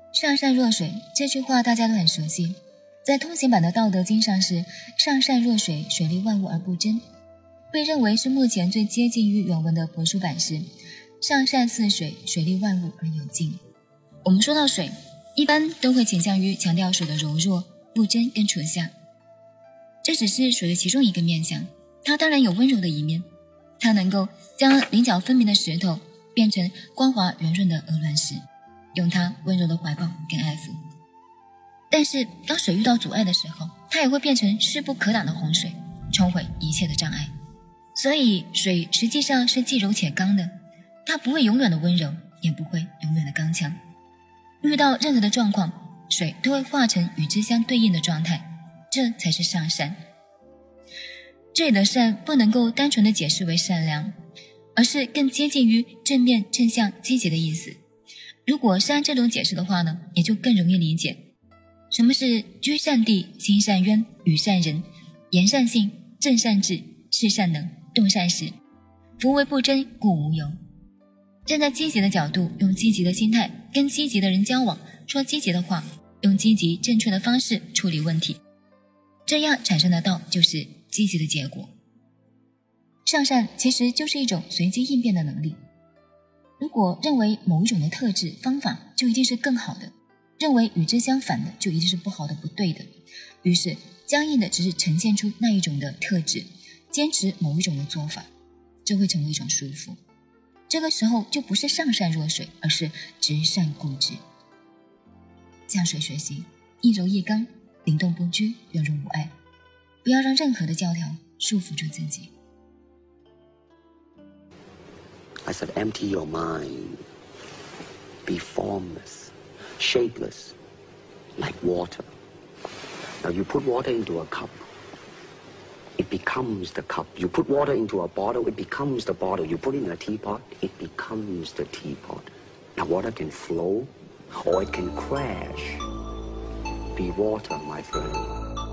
上善若水这句话大家都很熟悉，在通行版的《道德经》上是上善若水，水利万物而不争。被认为是目前最接近于原文的帛书版是上善似水，水利万物而有尽。我们说到水，一般都会倾向于强调水的柔弱、不争跟纯下，这只是水的其中一个面向，它当然有温柔的一面，它能够将棱角分明的石头变成光滑圆润的鹅卵石，用它温柔的怀抱跟爱抚。但是当水遇到阻碍的时候，它也会变成势不可挡的洪水，冲毁一切的障碍。所以水实际上是既柔且刚的，它不会永远的温柔，也不会永远的刚强。遇到任何的状况，水都会化成与之相对应的状态，这才是上善。这里的善不能够单纯的解释为善良，而是更接近于正面、正向、积极的意思。如果是按这种解释的话呢，也就更容易理解什么是居善地、行善渊、与善人、言善信、正善治、事善能、动善时，夫为不争，故无尤。站在积极的角度，用积极的心态跟积极的人交往，说积极的话，用积极正确的方式处理问题，这样产生的道就是积极的结果。上善其实就是一种随机应变的能力。如果认为某一种的特质方法就一定是更好的，认为与之相反的就一定是不好的不对的，于是僵硬的只是呈现出那一种的特质，坚持某一种的做法，这会成为一种束缚。这个时候就不是上善若水，而是直善固执。向水学习，一柔一刚，灵动不拘，圆融无碍，不要让任何的教条束缚住自己。 I said, empty your mind. Be formless, shapeless, like water. Now you put water into a cup, it becomes the cup. You put water into a bottle, it becomes the bottle. You put it in a teapot, it becomes the teapot. Now water can flow or it can crash. Be water, my friend.